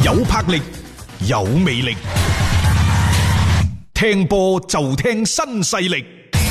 有魄力，有魅力，聽波就聽新勢力。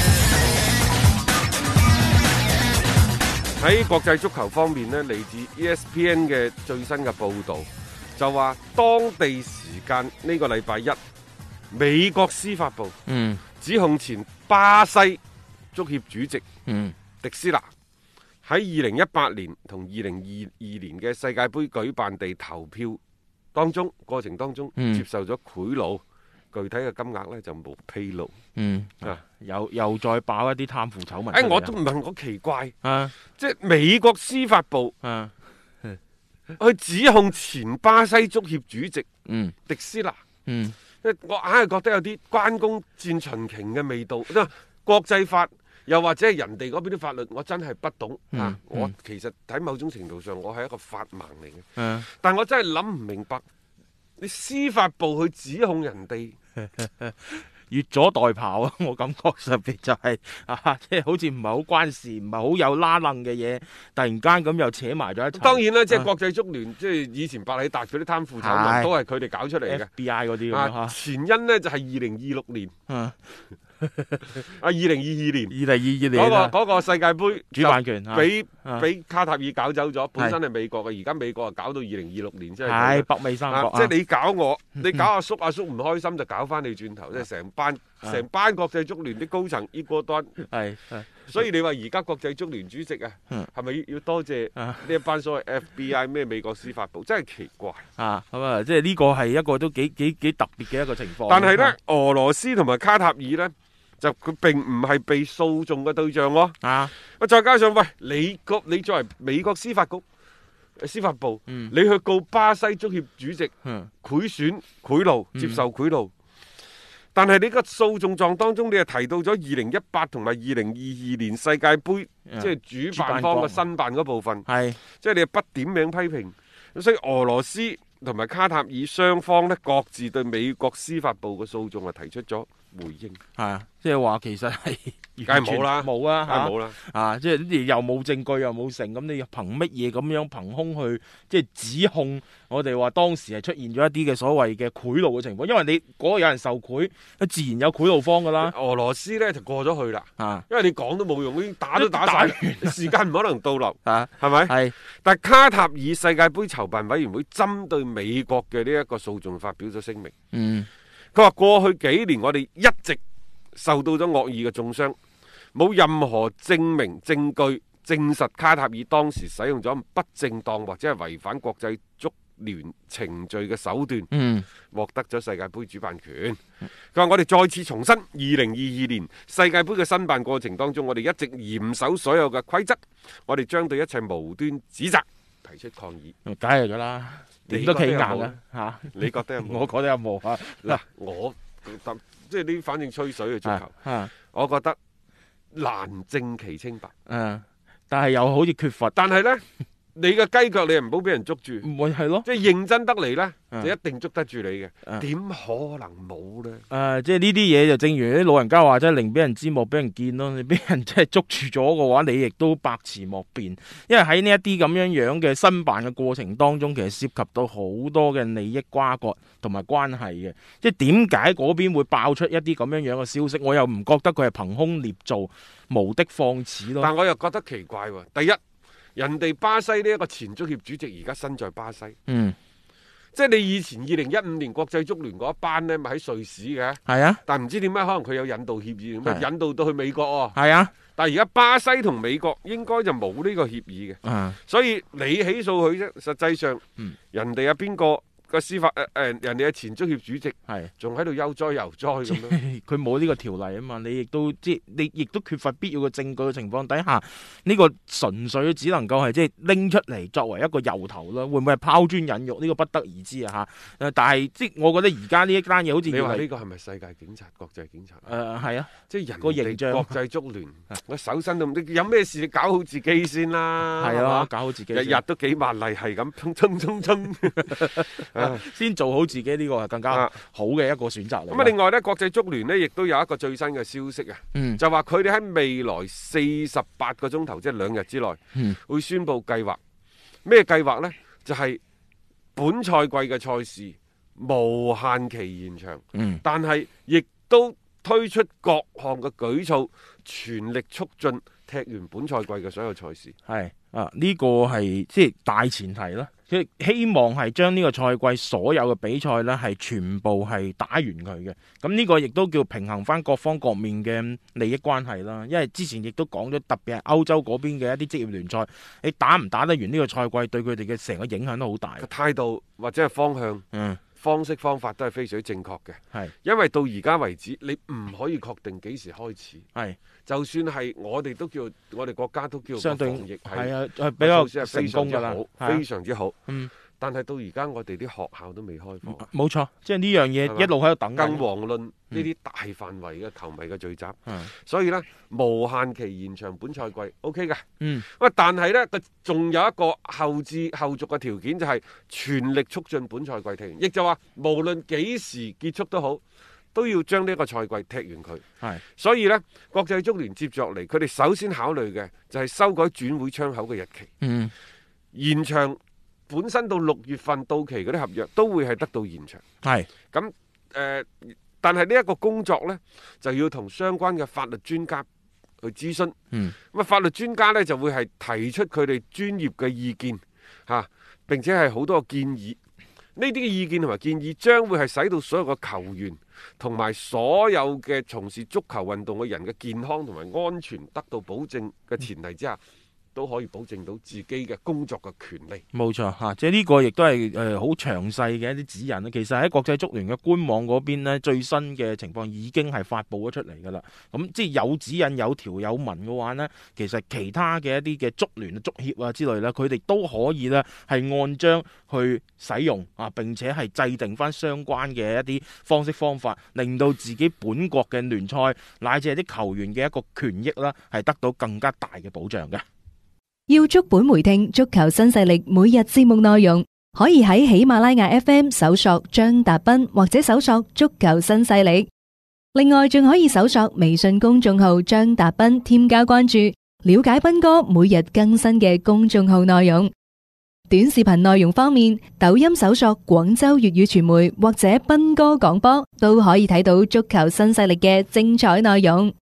喺國際足球方面呢，嚟自 ESPN 嘅最新嘅報導就話，當地時間呢個禮拜一，美國司法部指控前巴西足協主席迪斯拿喺2018年同2022年嘅世界盃舉辦地投票過程當中接受咗賄賂。具體嘅金額呢就冇披露。 又再爆一啲貪腐醜聞。 我都唔係好奇怪，即係美國司法部去指控前巴西足協主席迪斯拿。我硬係覺得有啲關公戰秦瓊嘅味道。國際法又或者係人哋嗰邊啲法律，我真係不懂。我其實喺某種程度上，我係一個法盲嚟嘅。但我真係諗唔明白，你司法部去指控人哋。 越俎代庖啊！我感覺上邊就係即係好似唔係好關事，唔係好有拉楞嘅嘢，突然間咁又扯埋咗一齊。 當然啦，即係國際足聯，即係以前百里達嗰啲貪腐醜聞都係佢哋搞出嚟嘅。 FBI 嗰啲咁前因呢就係2026年。2022年嗰個世界盃主辦權俾卡塔爾搞走咗，本身係美國嘅，而家美國搞到2026年，即係北美三國。 即係你搞我，你搞阿叔唔開心就搞翻你轉頭，即係成班國際足聯啲高層依個端。所以你話而家國際足聯主席係咪要多謝呢一班所謂 FBI 咩美國司法部？真係奇怪即係呢個係一個都幾特別嘅一個情況。 但係呢，俄羅斯同埋卡塔爾呢，就佢並唔係被訴訟嘅對象喎。再加上你作為美國司法部，你去告巴西足協主席賄賂接受賄賂。但係你個訴訟狀當中，你係提到咗2018同埋2022年世界盃，即係主辦方嘅申辦嗰部分，即係你係不點名批評。所以俄羅斯同埋卡塔爾雙方呢，各自對美國司法部嘅訴訟提出咗回應。 即係話其實係梗係冇啦， 冇啊， 冇啦， 即係又冇證據又冇成，咁你憑乜嘢咁樣憑空去即係指控我哋話當時係出現咗一啲嘅所謂嘅賄賂嘅情況？因為你嗰個有人受賄，自然有賄賂方噶啦。 俄羅斯呢就過咗去啦，因為你講都冇用，已經打都打晒，時間唔可能倒流，係咪？係。但係卡塔爾世界盃籌辦委員會針對美國嘅呢一個訴訟發表咗聲明。佢話過去幾年我哋一直受到咗惡意嘅中傷，冇任何證明證據證實卡塔爾當時使用咗不正當或者係違反國際足聯程序嘅手段，獲得咗世界盃主辦權。佢話我哋再次重申，2022年世界盃嘅申辦過程當中，我哋一直嚴守所有嘅規則，我哋將對一切無端指責提出抗議。 梗係㗎啦，點都企硬啦。 你覺得有冇？ 我覺得有冇啊？ 嗱，我覺得即係呢，反正吹水嘅足球，我覺得難證其清白。 但係又好似缺乏。 但係呢，你嘅雞腳你唔好俾人捉住， 唔會係咯？ 即係認真得嚟呢，就一定捉得住你嘅。點可能冇呢？ 即係呢啲嘢就正如啲老人家話，即係寧俾人知莫俾人見咯。你俾人即係捉住咗嘅話，你亦都百詞莫辯。因為喺呢一啲咁樣嘅申辦嘅過程當中，其實涉及到好多嘅利益瓜葛同埋關係嘅。即係點解嗰邊會爆出一啲咁樣嘅消息？我又唔覺得佢係憑空捏造、無的放矢咯。 但我又覺得奇怪喎。第一，人哋巴西呢一個前足協主席而家身在巴西，即係你以前2015年國際足聯嗰一班呢，咪喺瑞士嘅，但唔知點解可能佢有引渡協議，引渡到去美國喎，但係而家巴西同美國應該就冇呢個協議嘅，所以你起訴佢啫，實際上人哋有邊個？個司法人哋嘅前足協主席仲喺度悠哉悠哉咁樣， 佢冇呢個條例啊嘛，你亦都缺乏必要嘅證據嘅情況底下，呢個純粹只能夠係即係拎出嚟作為一個由頭啦，會唔會係拋磚引玉？呢個不得而知啊嚇。但係即係我覺得而家呢一單嘢好似你話呢個係咪世界警察、國際警察？ 係啊， 即係人個形象。國際足聯，我手身都你有咩事你搞好自己先啦，係嘛？ 搞好自己， 日日都幾萬例係咁衝。 先做好自己呢個係更加好嘅一個選擇嚟。 咁另外呢，國際足聯呢亦都有一個最新嘅消息啊，就話佢哋喺未來48個鐘頭，即係2日之內，會宣布計劃。咩計劃呢？就係本賽季嘅賽事無限期延長，但係亦都推出各項嘅舉措，全力促進踢完本賽季嘅所有賽事。 係呢個係即係大前提啦。佢希望係將呢個賽季所有嘅比賽呢係全部係打完佢嘅。咁呢個亦都叫平衡翻各方各面嘅利益關係啦。因為之前亦都講咗，特別係歐洲嗰邊嘅一啲職業聯賽，你打唔打得完呢個賽季，對佢哋嘅成個影響都好大。 態度或者係方向，方式方法都係非常之正確嘅。 係， 因為到而家為止，你唔可以確定幾時開始。 係， 就算係我哋都叫，我哋國家都叫相對防疫係比較成功㗎啦， 非常之好。但係到而家我哋啲學校都未開課。冇錯，即係呢樣嘢一路喺度等緊。 更遑論呢啲大範圍嘅球迷嘅聚集。所以呢，無限期延長本賽季 OK 嘅。但係呢，佢仲有一個後續嘅條件，就係全力促進本賽季踢完，亦就話無論幾時結束都好，都要將呢個賽季踢完佢。所以呢，國際足聯接住落嚟，佢哋首先考慮嘅就係修改轉會窗口嘅日期。延長本身到6月份到期嗰啲合約都會係得到延長。咁但係呢一個工作呢，就要同相關嘅法律專家去諮詢。咁法律專家呢，就會係提出佢哋專業嘅意見並且係好多建議。呢啲嘅意見同埋建議將會係使到所有嘅球員同埋所有嘅從事足球運動嘅人嘅健康同埋安全得到保證嘅前提之下，都可以保證到自己嘅工作嘅權利。 冇錯嚇，即係呢個亦都係好詳細嘅一啲指引啦。其實喺國際足聯嘅官網嗰邊呢，最新嘅情況已經係發布咗出嚟㗎啦。咁即係有指引、有條有文嘅話呢，其實其他嘅一啲嘅足聯、足協啊之類呢，佢哋都可以呢係按章去使用並且係制定翻相關嘅一啲方式方法，令到自己本國嘅聯賽乃至係啲球員嘅一個權益啦，係得到更加大嘅保障嘅。 要足本回聽足球新勢力每日節目內容，可以喺喜馬拉雅 FM 搜索張達斌，或者搜索足球新勢力。另外仲可以搜索微信公眾號張達斌，添加關注，了解斌哥每日更新嘅公眾號內容。短視頻內容方面，抖音搜索廣州粵語傳媒或者斌哥廣播，都可以睇到足球新勢力嘅精彩內容。